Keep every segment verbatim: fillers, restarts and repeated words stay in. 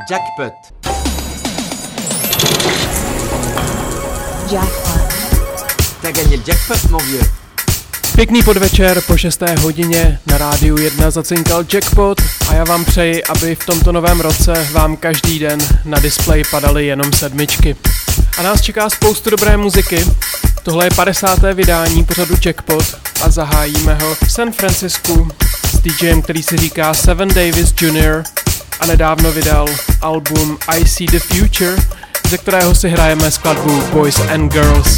Jackpot. Jackpot. T'as gagné le jackpot, mon vieux. Pěkný podvečer, po šesté hodině na rádiu jedna zacinkal Jackpot a já vám přeji, aby v tomto novém roce vám každý den na displeji padaly jenom sedmičky. A nás čeká spoustu dobré muziky. Tohle je padesáté vydání pořadu Jackpot a zahájíme ho v San Francisku s DJem, který si říká Seven Davis junior a nedávno vydal album I See the Future, ze kterého si hrajeme skladbu Boys and Girls.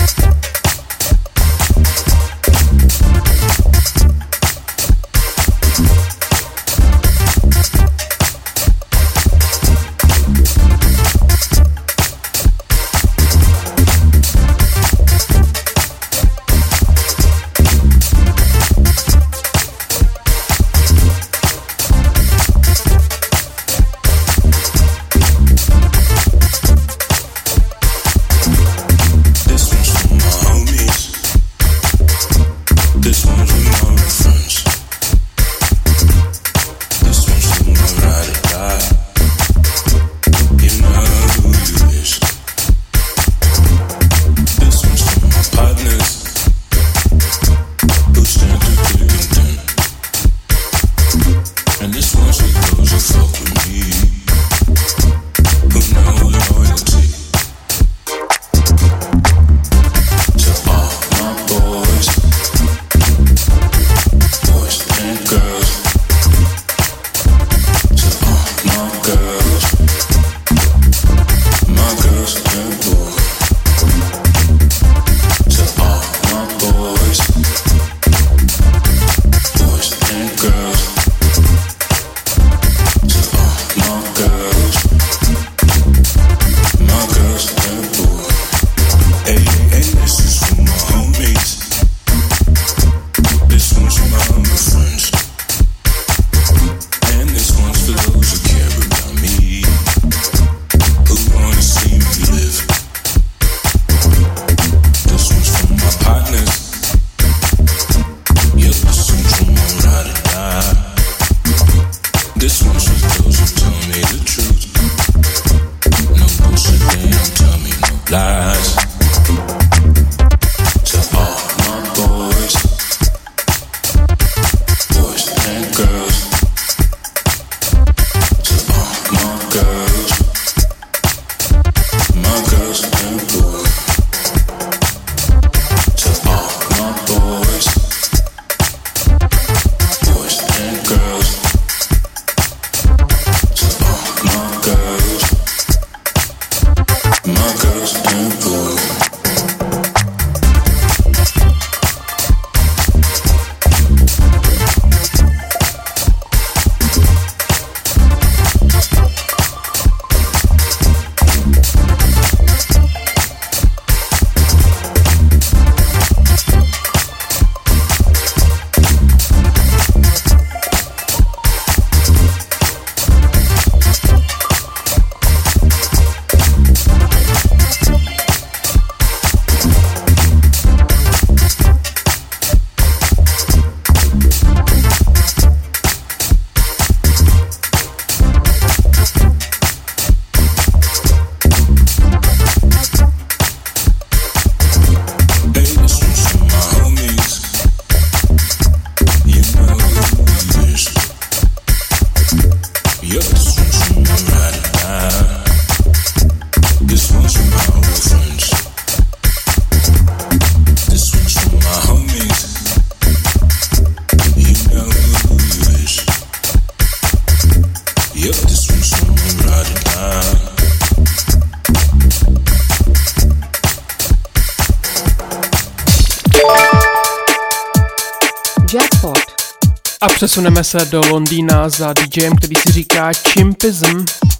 A přesuneme se do Londýna za DJem, který si říká Chimpism.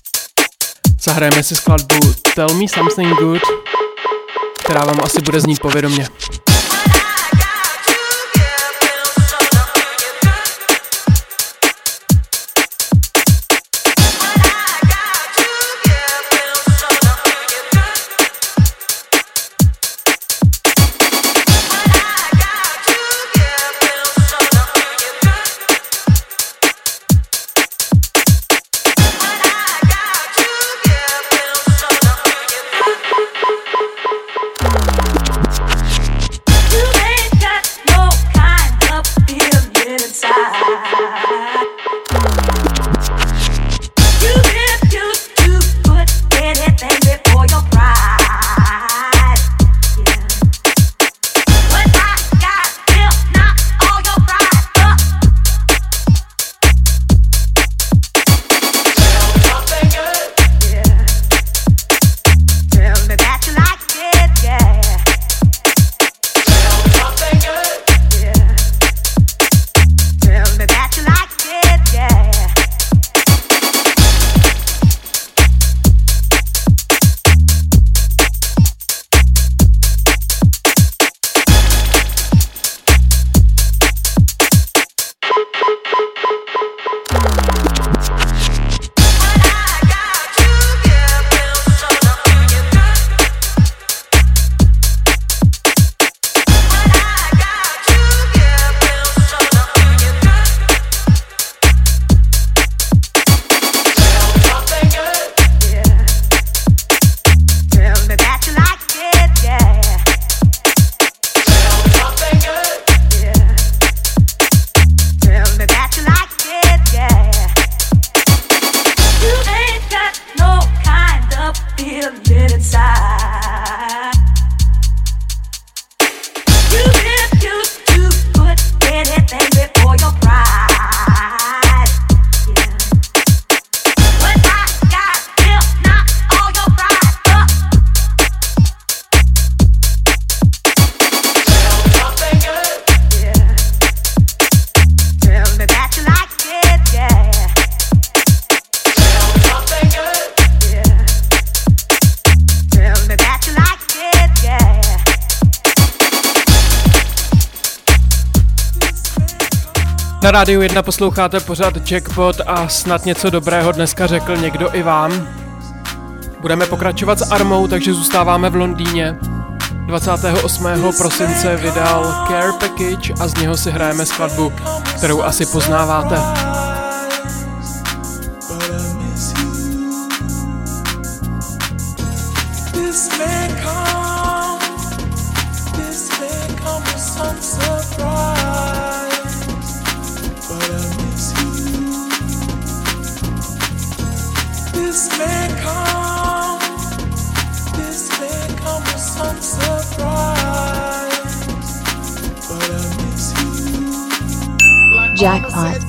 Zahrajeme si skladbu Tell Me Something Good, která vám asi bude znít povědomě. Na Rádiu jedna posloucháte pořad Jackpot a snad něco dobrého dneska řekl někdo i vám. Budeme pokračovat s Armou, takže zůstáváme v Londýně. dvacátého osmého prosince vydal Care Package a z něho si hrajeme skladbu, kterou asi poznáváte. Jackpot.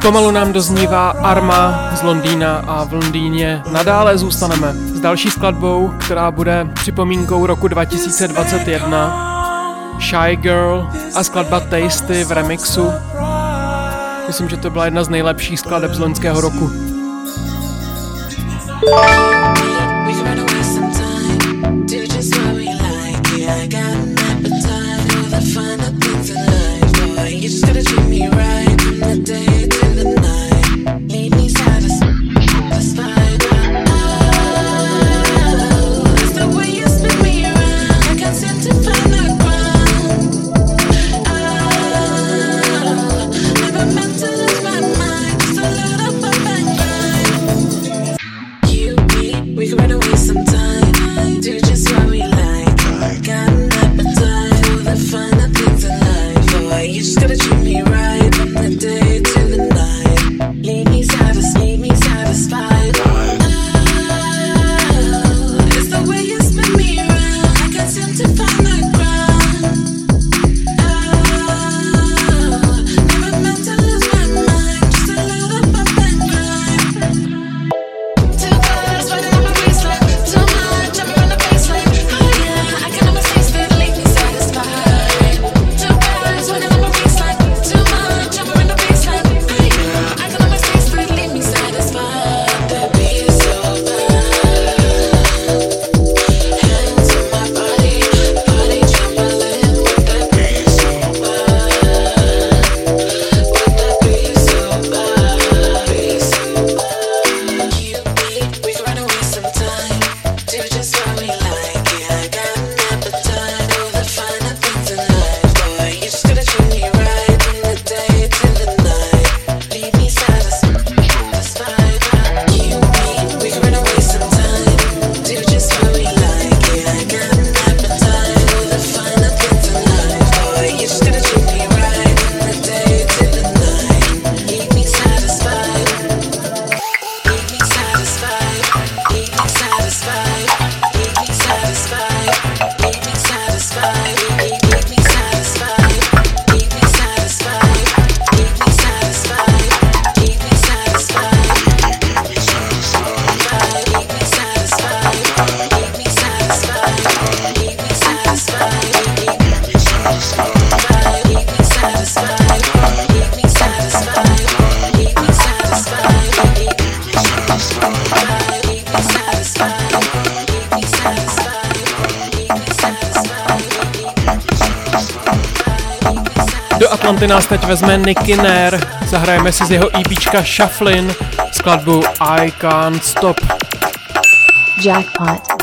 Pomalu nám doznívá Arma z Londýna a v Londýně nadále zůstaneme s další skladbou, která bude připomínkou roku dva tisíce dvacet jedna. Shy Girl a skladba Tasty v remixu. Myslím, že to byla jedna z nejlepších skladeb z loňského roku. Atlanty nás teď vezme Nicky Nair, zahrajeme si z jeho EPčka Shufflin skladbu I Can't Stop. Jackpot.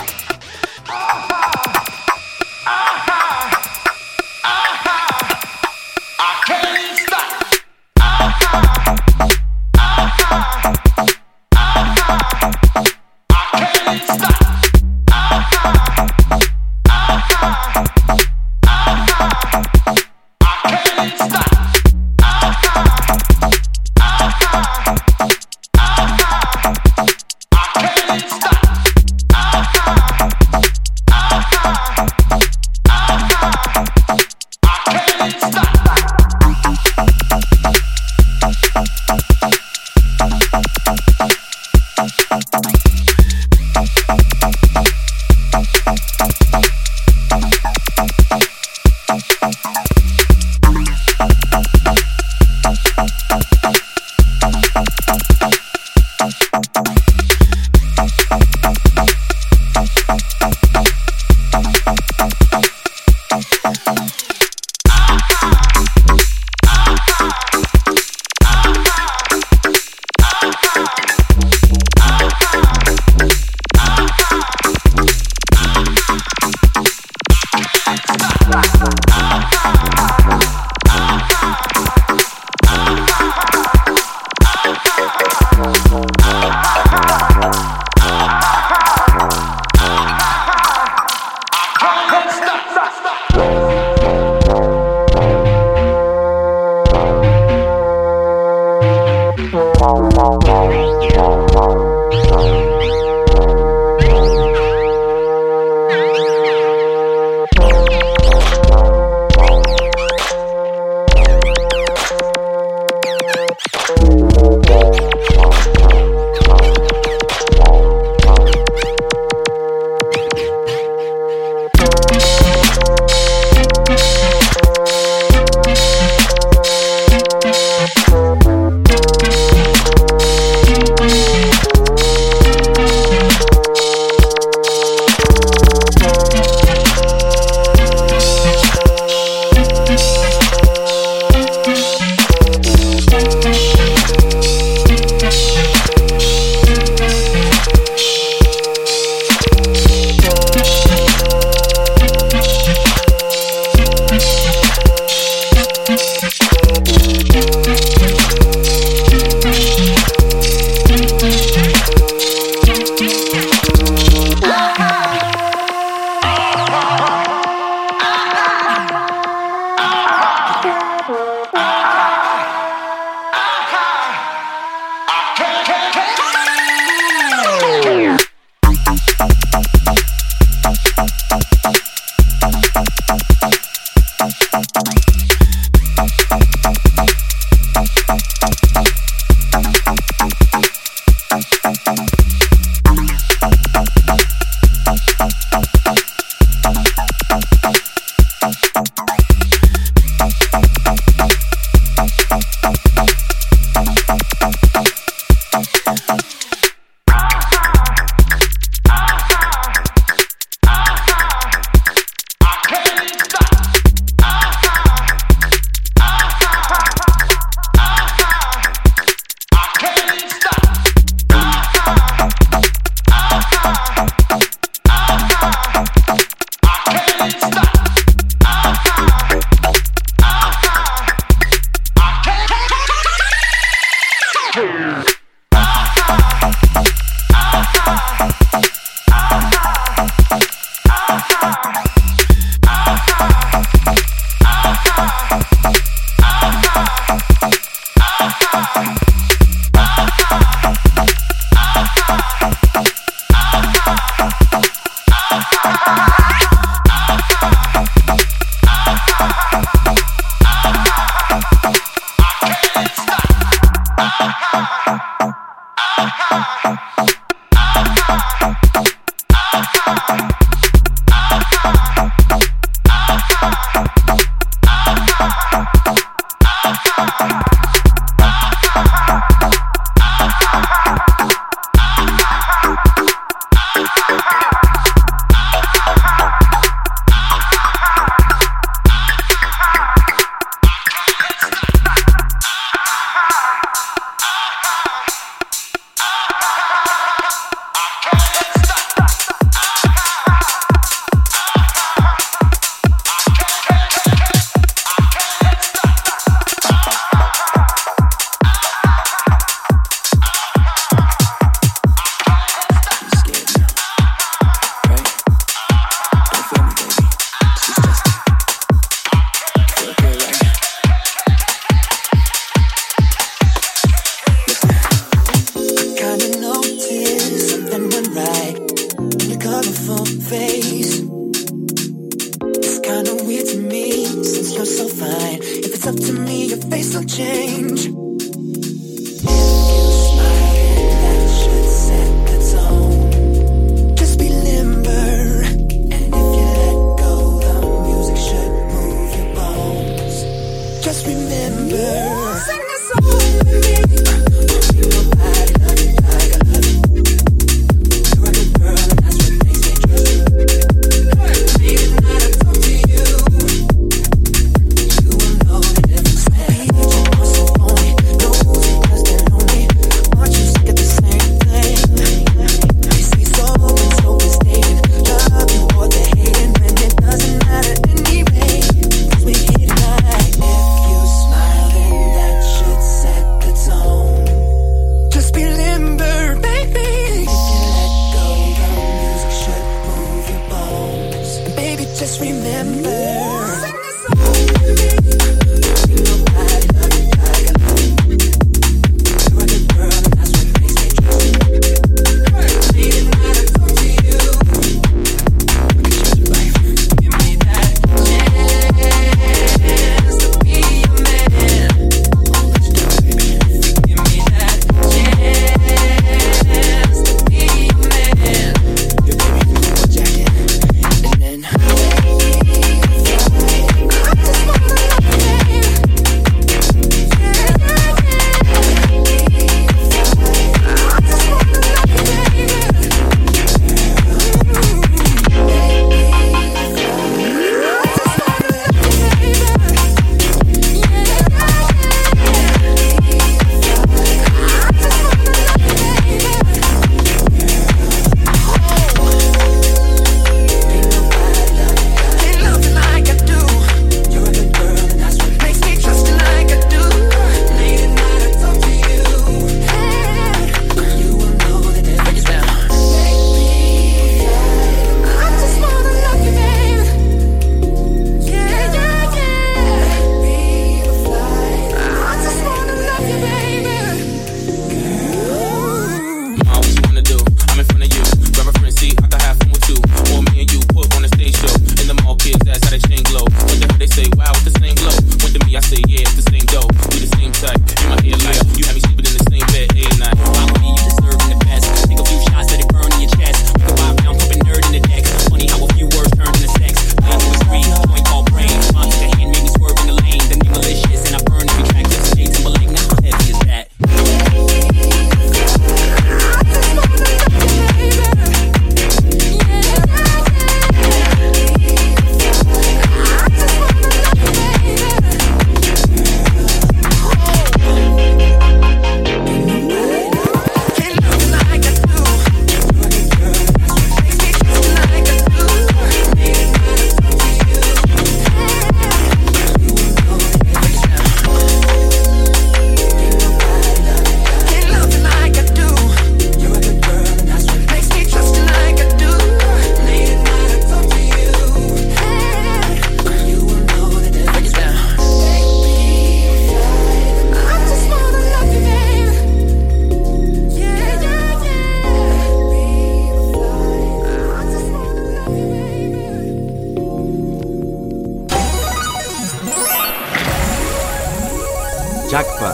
Jackpot.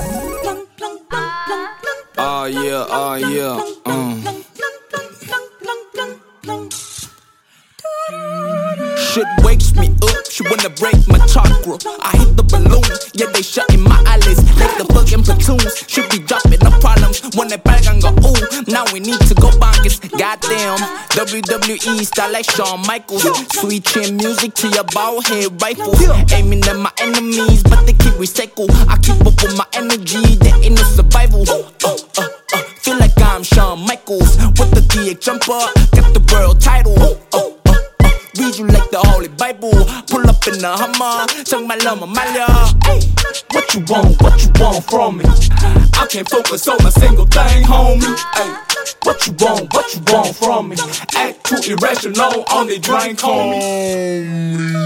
Oh yeah, oh yeah, um. Shit wakes me up, she wanna break my chakra. I hit the balloon, yeah they shutting my eyelids like the fucking platoons. Should be dropping no problems when they back and go ooh. Now we need to go bonkers, goddamn. W W E style like Shawn Michaels. Sweet chin music to your bald head rifles. Aiming at my enemies, but they keep recycle. I keep up with my energy, there ain't no survival. Uh, uh, uh, feel like I'm Shawn Michaels with the D X jumper, got the world title. Uh, uh, Read you like the Holy Bible. Pull up in the Hummer, 정말로 못 말려. What you want, what you want from me? I can't focus on a single thing, homie. Ay, what you want, what you want from me? Act too irrational, only drink, homie.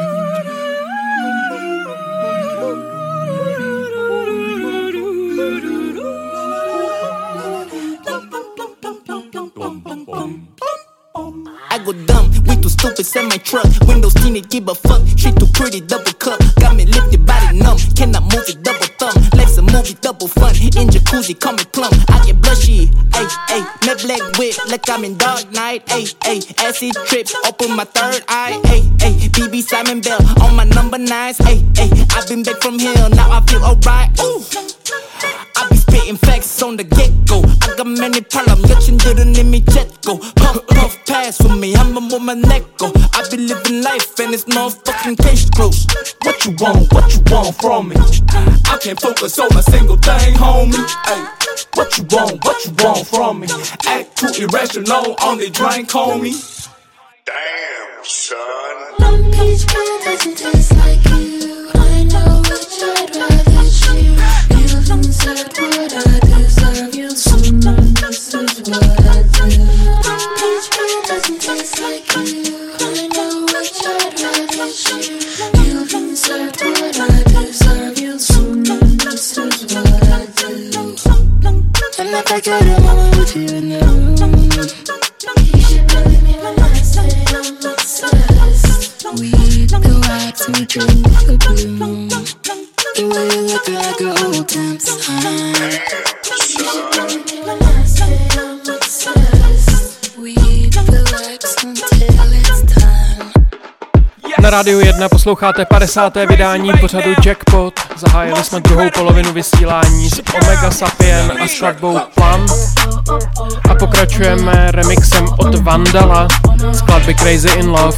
I go dumb, we too stupid, send my truck. Windows tinted, give a fuck. She too pretty, double cup. Got me lifted, body numb. Cannot move it, double thumb. Life's a movie, double fun. In jacuzzi, call me plump. I get blushy, ayy, ayy. Net black whip, like I'm in Dark Knight, ayy, ayy. Acid trips, open my third eye, ayy, ayy. B B Simon Bell on my number nines, ayy, ayy. I've been back from hell, now I feel alright, ooh. I be spitting facts on the get-go. I got many problems, 여친들은 이미 jetgo. Puff, puff, pass with me, I'ma move my neck go. I be living life and it's no fucking case closed. What you want, what you want from me? I can't focus on a single thing, homie. Ay, what you want, what you want from me? Act too irrational, only drink, homie. Damn, son. Long Beach girl doesn't taste like you. I know which I'd rather choose. You've said what I deserve. You soon this is what I do. Long Beach girl doesn't taste like you. I know which I'd rather choose. You've said what I deserve. You soon this is what I do. And if I got a moment with you in the room, you should believe me when I say I'm obsessed. We go out to drink the bloom. The way you look like an old time sign. You should believe me when I say I'm obsessed. We relax until it's time. Na Rádiu jedna posloucháte padesáté vydání pořadu Jackpot. Zahájili jsme druhou polovinu vysílání s Omega Sapien a skladbou Plan. A pokračujeme remixem od Vandala skladby Crazy in Love.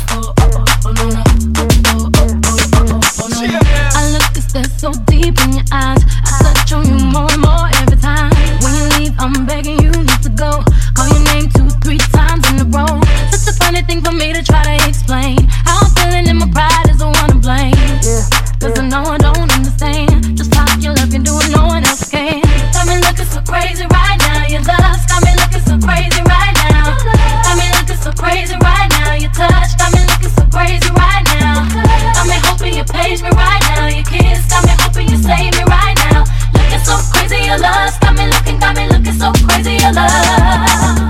I look to stare so deep in your eyes. I touch on you more and more every time. When you leave, I'm begging you need to go. Call your name two, three times in a row. Such a funny thing for me to try to explain. How I'm feeling and my pride is the one to blame. Cause I know I don't understand just how you look and do it no one else can. Got me looking so crazy right now. Your lust got me looking so crazy right now. Got me looking so crazy right now. Your touch got me looking so crazy right now. Got me hoping you page me right now. Your kiss got me hoping you save me right now. Looking so crazy your lust got me looking, got me looking so crazy your love.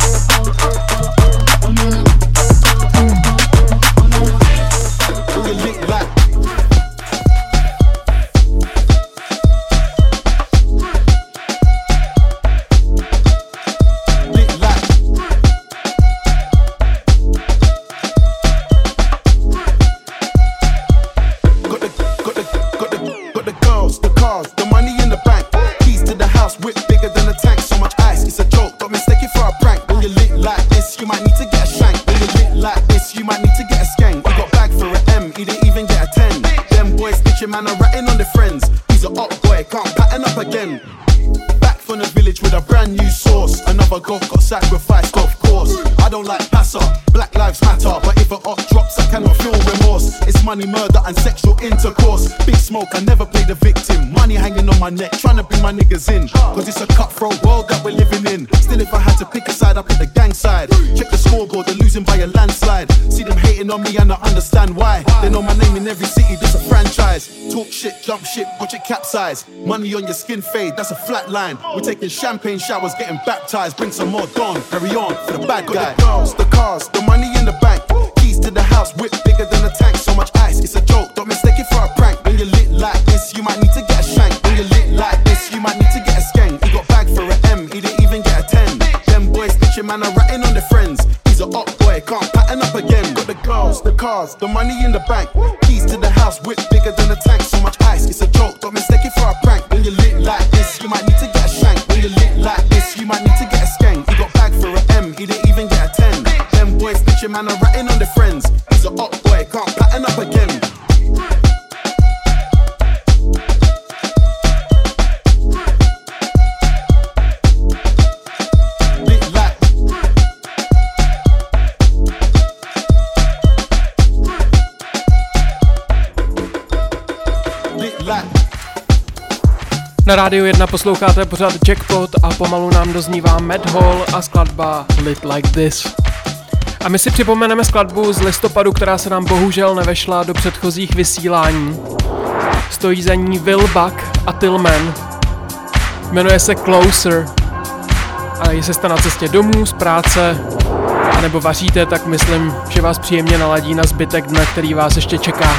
Man, I'm ratting on the friends. He's a up boy, can't pattern up again. Back from the village with a brand new sauce. Another goat got sacrificed, of course. I don't like passer, Black Lives Matter. But if a up drops, I cannot feel remorse. It's money, murder, and sexual intercourse. Big smoke, I never play the victim. Money hanging on my neck, trying to bring my niggas in. Cause it's a cutthroat world that we're living in. Still, if I had to pick a side, I pick the gang side. Check the scoreboard, they're losing by a landslide. See them hating on me and I understand why. They know my name in every city, this a franchise. Talk shit, jump ship, watch it capsize. Money on your skin fade, that's a flat line. We're taking champagne showers, getting baptized. Bring some more dawn, carry on for the bad guy. The girls, the cars, the money in the bank. Keys to the house, whip bigger than a tank. So much ice, it's a joke, don't mistake it for a prank. When you're lit like this, you might need to get a shank. When you're lit cars, the money in the bank. Keys to the house, whip bigger than a tank. So much ice, it's a joke, don't mistake it for a prank. When you lit like this, you might need to get a shank. When you lit like this, you might need to get a skank. He got bagged for an M, he didn't even get a ten. Them boys bitchin' man are ratting on their friends. He's a hot boy, can't pattern up again. Na Rádiu jedna posloucháte pořád Jackpot a pomalu nám doznívá Mad Hall a skladba Lit Like This. A my si připomeneme skladbu z listopadu, která se nám bohužel nevešla do předchozích vysílání. Stojí za ní Will Buck a Tillman. Jmenuje se Closer. A jestli jste na cestě domů, z práce, nebo vaříte, tak myslím, že vás příjemně naladí na zbytek dne, který vás ještě čeká.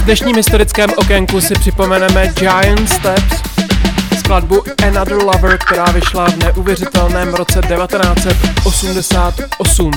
dnešním historickém okénku si připomeneme Giant Steps, skladbu Another Lover, která vyšla v neuvěřitelném roce devatenáct set osmdesát osm.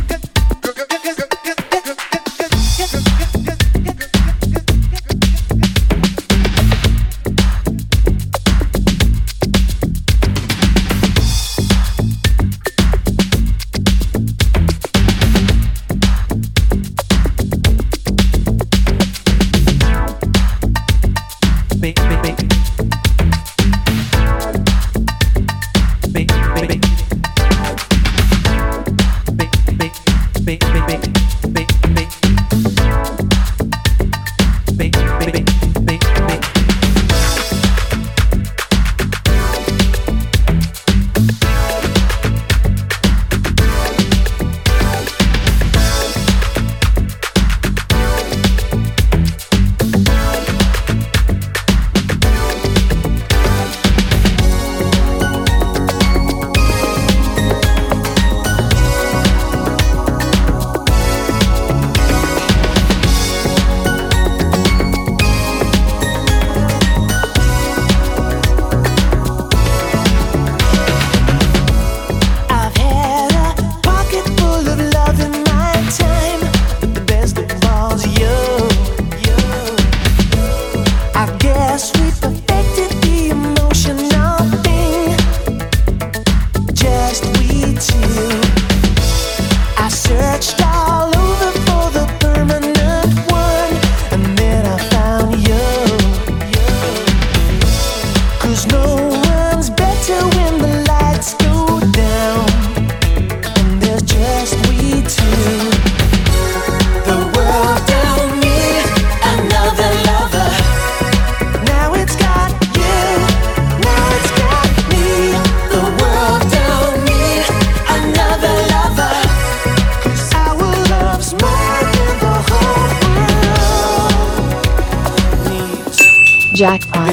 Jackpot.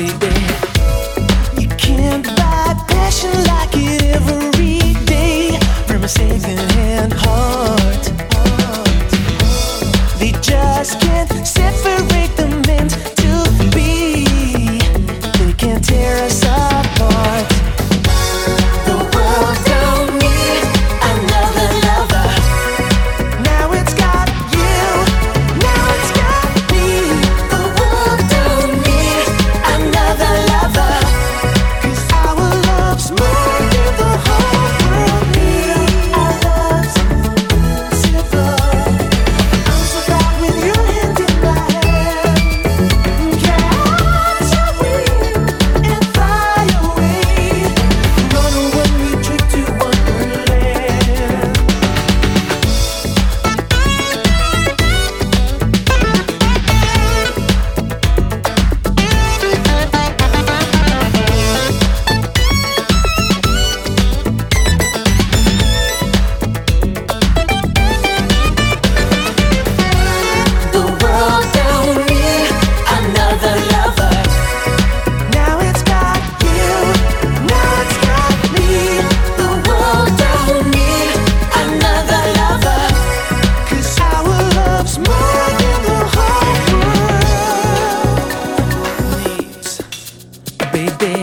You can't buy passion like it every day from a second-hand heart. They just can't separate the meant to be. They can't tear us apart. The world don't need another lover. Now it's got you, now it's got me. The world don't need another lover, 'cause our love's more than the whole world needs. Our love's simple. I'm so proud with your hand in my hand. Catch a wind and fly away. Run a one-way trip to Wonderland. The world don't need another lover. Now it's got you, now it's got me. The world don't need another lover, 'cause our love's more than the whole world needs, baby.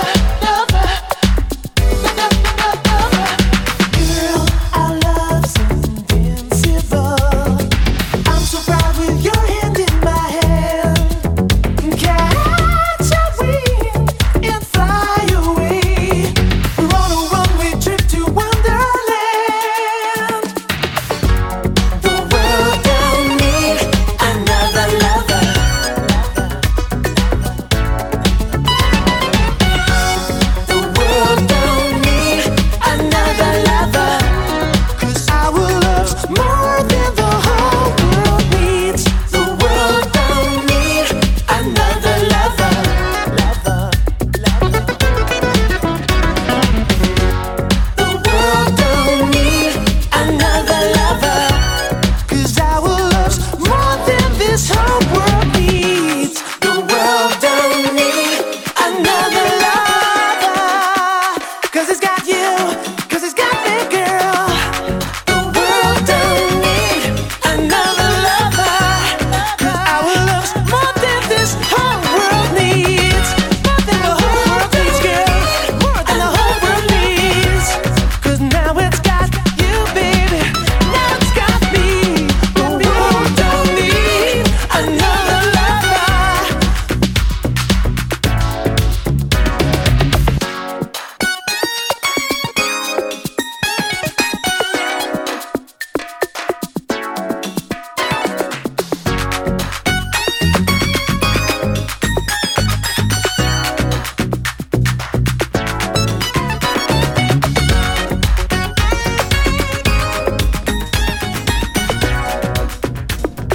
Girl, our love's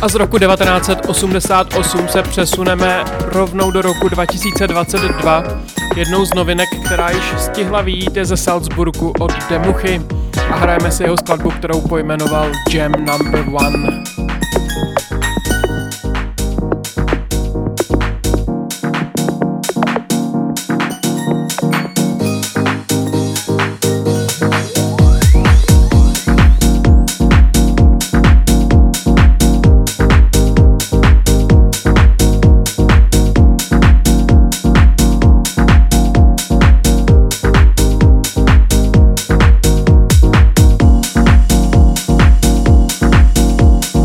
A z roku devatenáct set osmdesát osm se přesuneme rovnou do roku dva tisíce dvacet dva. Jednou z novinek, která již stihla vyjít, je ze Salzburgu od Demuchy a hrajeme si jeho skladbu, kterou pojmenoval Jam Number One. Thank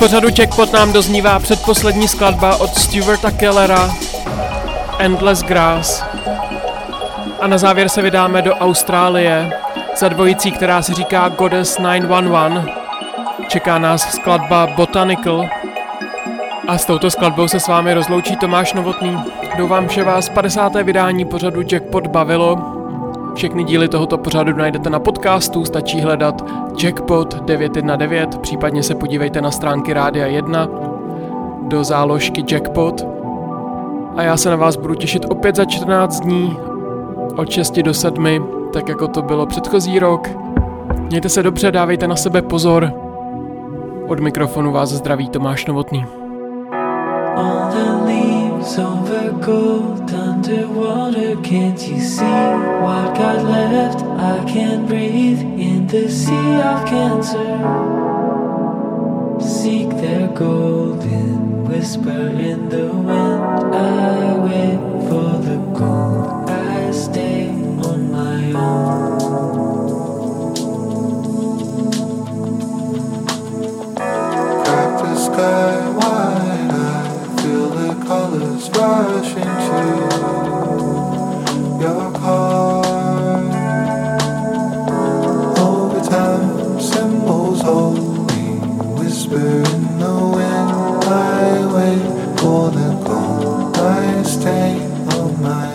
pořadu Jackpot nám doznívá předposlední skladba od Stuarta Kellera, Endless Grass. A na závěr se vydáme do Austrálie za dvojicí, která se říká Goddess nine one one. Čeká nás skladba Botanical. A s touto skladbou se s vámi rozloučí Tomáš Novotný. Doufám, že vás padesáté vydání pořadu Jackpot bavilo. Všechny díly tohoto pořadu najdete na podcastu, stačí hledat Jackpot devět jedna devět, případně se podívejte na stránky Rádia jedna do záložky Jackpot. A já se na vás budu těšit opět za čtrnáct dní od šesti do sedmi, tak jako to bylo předchozí rok. Mějte se dobře, dávejte na sebe pozor. Od mikrofonu vás zdraví Tomáš Novotný. All the leaves over gold underwater. Can't you see what got left? I can't breathe in the sea of cancer. Seek their golden whisper in the wind. I wait for the gold. I stay on my own. Crack the sky wide. I feel the colors rush into your heart. Over time, symbols hold me, whisper in the wind. I wait for the gold. I stay on my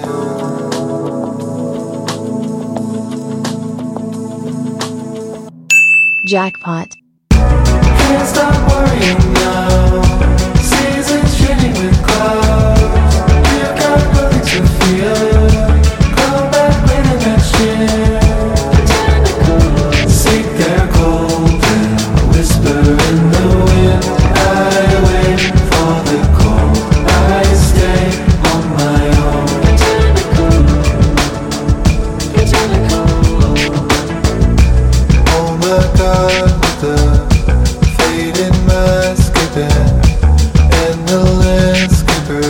own. Jackpot. Can't stop worrying now. Seasons changing with clouds. You've got nothing to fear. Come back later next year. Seek their golden whisper in the wind. I wait for the cold. I stay on my own. Oh my God, the faded mask again, and the landscaper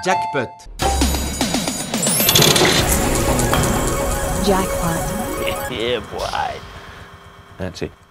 Jackpot. Jackpot. Yeah, boy. That's it.